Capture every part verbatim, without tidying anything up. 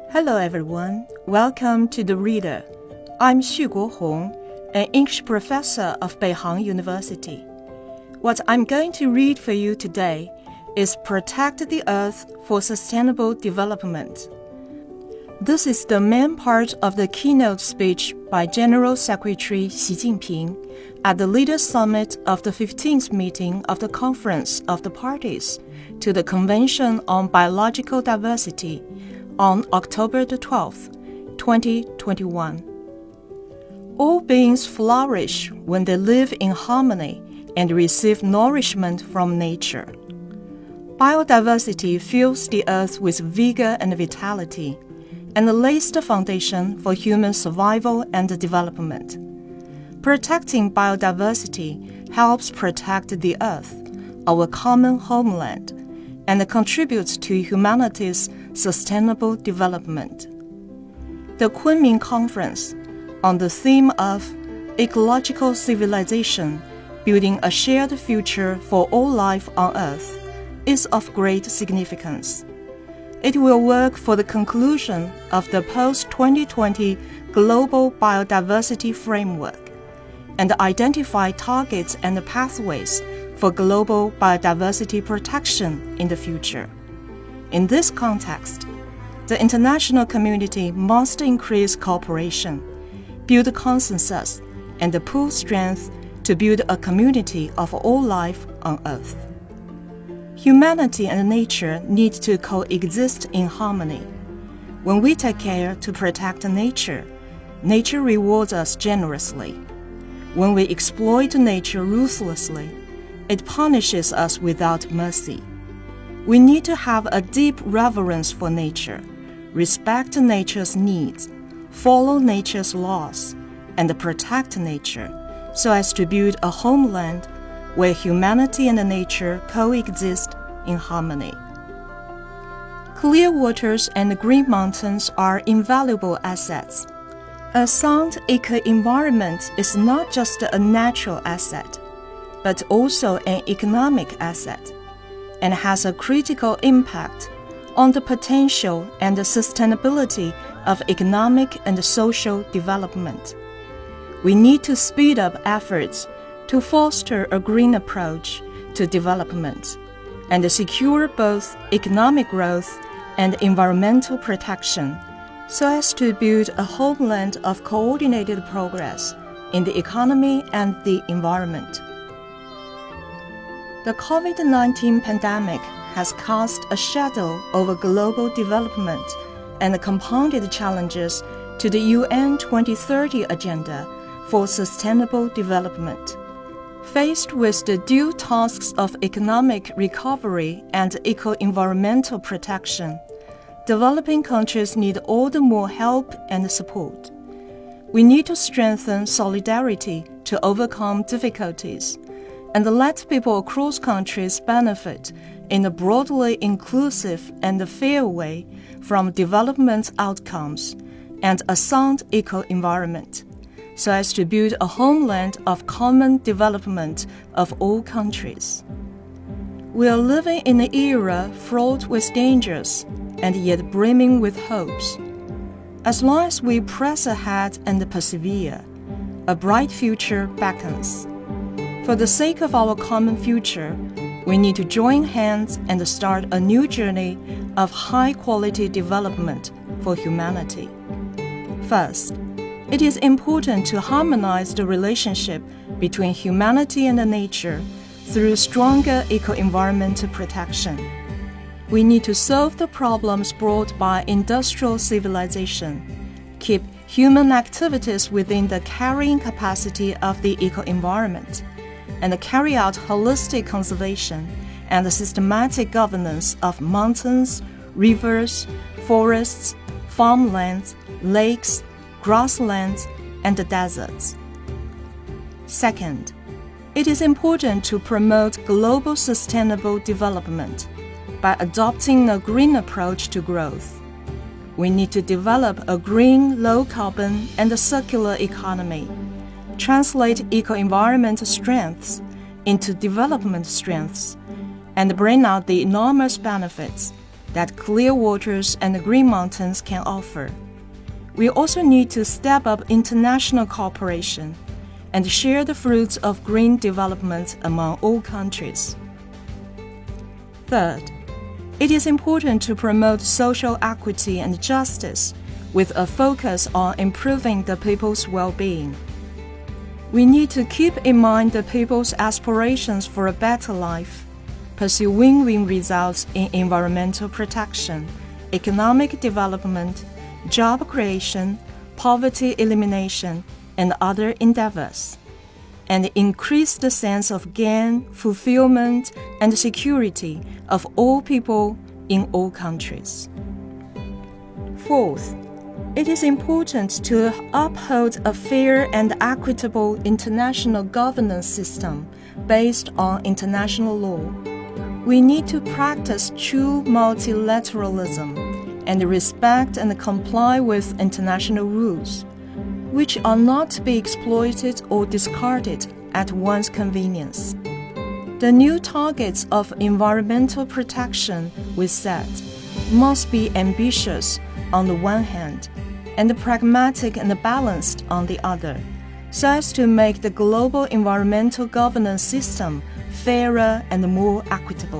Hello everyone, welcome to The Reader. I'm Xu Guohong, an English professor of Beihang University. What I'm going to read for you today is Protect the Earth for Sustainable Development. This is the main part of the keynote speech by General Secretary Xi Jinping at the Leaders' Summit of the fifteenth meeting of the Conference of the Parties to the Convention on Biological Diversity on October the twelfth, twenty twenty-one. All beings flourish when they live in harmony and receive nourishment from nature. Biodiversity fills the earth with vigor and vitality, and lays the foundation for human survival and development. Protecting biodiversity helps protect the earth, our common homeland, and contributes to humanity's sustainable development. The Kunming Conference, on the theme of Ecological Civilization, Building a Shared Future for All Life on Earth, is of great significance. It will work for the conclusion of the post twenty twenty Global Biodiversity Framework and identify targets and pathways for global biodiversity protection in the future. In this context, the international community must increase cooperation, build consensus, and pool strength to build a community of all life on Earth. Humanity and nature need to coexist in harmony. When we take care to protect nature, nature rewards us generously. When we exploit nature ruthlessly, it punishes us without mercy. We need to have a deep reverence for nature, respect nature's needs, follow nature's laws, and protect nature so as to build a homeland where humanity and nature coexist in harmony. Clear waters and green mountains are invaluable assets. A sound eco-environment is not just a natural asset, but also an economic asset, and has a critical impact on the potential and the sustainability of economic and social development. We need to speed up efforts to foster a green approach to development and secure both economic growth and environmental protection so as to build a homeland of coordinated progress in the economy and the environment. The COVID nineteen pandemic has cast a shadow over global development and compounded challenges to the U N twenty thirty Agenda for Sustainable Development. Faced with the dual tasks of economic recovery and eco-environmental protection, developing countries need all the more help and support. We need to strengthen solidarity to overcome difficulties and let people across countries benefit in a broadly inclusive and fair way from development outcomes and a sound eco-environment, so as to build a homeland of common development of all countries. We are living in an era fraught with dangers and yet brimming with hopes. As long as we press ahead and persevere, a bright future beckons. For the sake of our common future, we need to join hands and start a new journey of high-quality development for humanity. First, it is important to harmonize the relationship between humanity and nature through stronger eco-environmental protection. We need to solve the problems brought by industrial civilization, keep human activities within the carrying capacity of the eco-environment, and carry out holistic conservation and systematic governance of mountains, rivers, forests, farmlands, lakes, grasslands, and deserts. Second, it is important to promote global sustainable development by adopting a green approach to growth. We need to develop a green, low-carbon, and circular economy, translate eco-environment strengths into development strengths, and bring out the enormous benefits that clear waters and green mountains can offer. We also need to step up international cooperation and share the fruits of green development among all countries. Third, it is important to promote social equity and justice with a focus on improving the people's well-being. We need to keep in mind the people's aspirations for a better life, pursue win-win results in environmental protection, economic development, job creation, poverty elimination, and other endeavors, and increase the sense of gain, fulfillment, and security of all people in all countries. Fourth, it is important to uphold a fair and equitable international governance system based on international law. We need to practice true multilateralism and respect and comply with international rules, which are not to be exploited or discarded at one's convenience. The new targets of environmental protection we set must be ambitious on the one hand and pragmatic and balanced on the other, so as to make the global environmental governance system fairer and more equitable.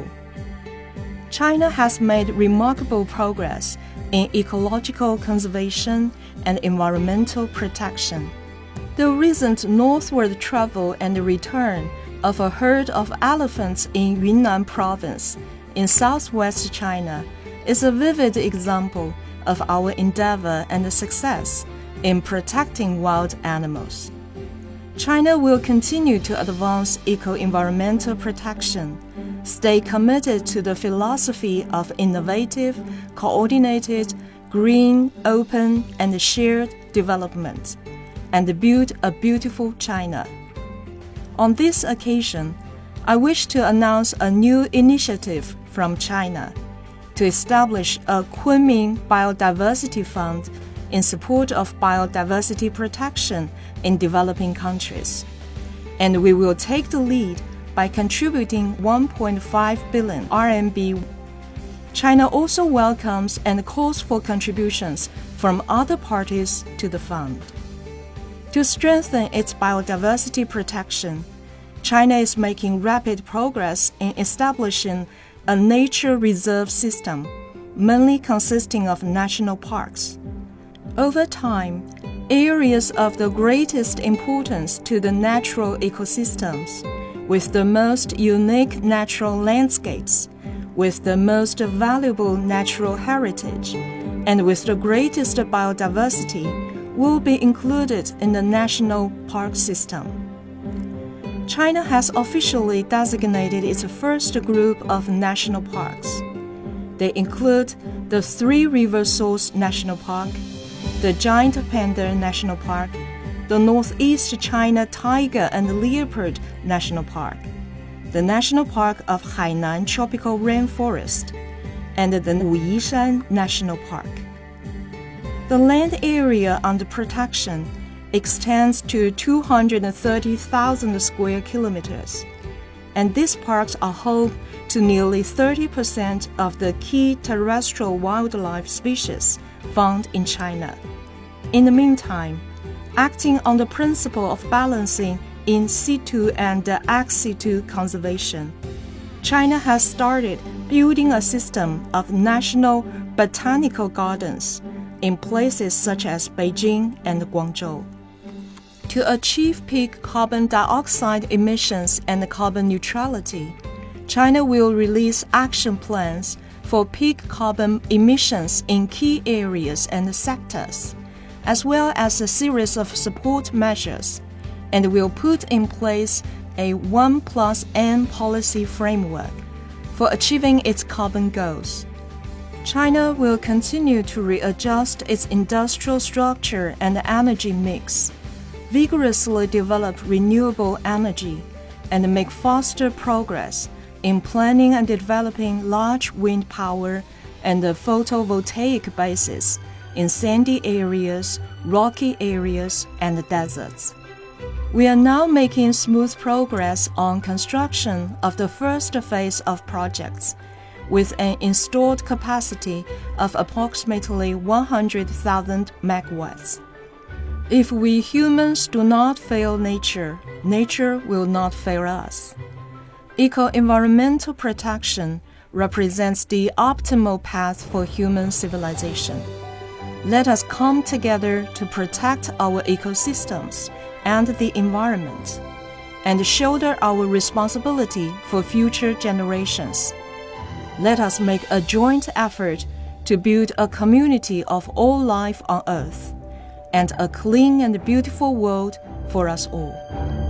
China has made remarkable progress in ecological conservation and environmental protection. The recent northward travel and return of a herd of elephants in Yunnan province in southwest China is a vivid example of our endeavor and success in protecting wild animals. China will continue to advance eco-environmental protection, stay committed to the philosophy of innovative, coordinated, green, open, and shared development, and build a beautiful China. On this occasion, I wish to announce a new initiative from China to establish a Kunming Biodiversity Fund in support of biodiversity protection in developing countries. And we will take the lead by contributing one point five billion R M B. China also welcomes and calls for contributions from other parties to the fund. To strengthen its biodiversity protection, China is making rapid progress in establishing a nature reserve system, mainly consisting of national parks. Over time, areas of the greatest importance to the natural ecosystems, with the most unique natural landscapes, with the most valuable natural heritage, and with the greatest biodiversity, will be included in the national park system. China has officially designated its first group of national parks. They include the Three River Source National Park, the Giant Panda National Park, the Northeast China Tiger and Leopard National Park, the National Park of Hainan Tropical Rainforest, and the Wuyishan National Park. The land area under protection extends to two hundred thirty thousand square kilometers, and these parks are home to nearly thirty percent of the key terrestrial wildlife species found in China. In the meantime, acting on the principle of balancing in situ and ex situ conservation, China has started building a system of national botanical gardens in places such as Beijing and Guangzhou. To achieve peak carbon dioxide emissions and carbon neutrality, China will release action plans for peak carbon emissions in key areas and sectors, as well as a series of support measures, and will put in place a one plus N policy framework for achieving its carbon goals. China will continue to readjust its industrial structure and energy mix, vigorously develop renewable energy, and make faster progress in planning and developing large wind power and photovoltaic bases in sandy areas, rocky areas, and deserts. We are now making smooth progress on construction of the first phase of projects, with an installed capacity of approximately one hundred thousand megawatts. If we humans do not fail nature, nature will not fail us. Eco-environmental protection represents the optimal path for human civilization. Let us come together to protect our ecosystems and the environment, and shoulder our responsibility for future generations. Let us make a joint effort to build a community of all life on Earth, and a clean and beautiful world for us all.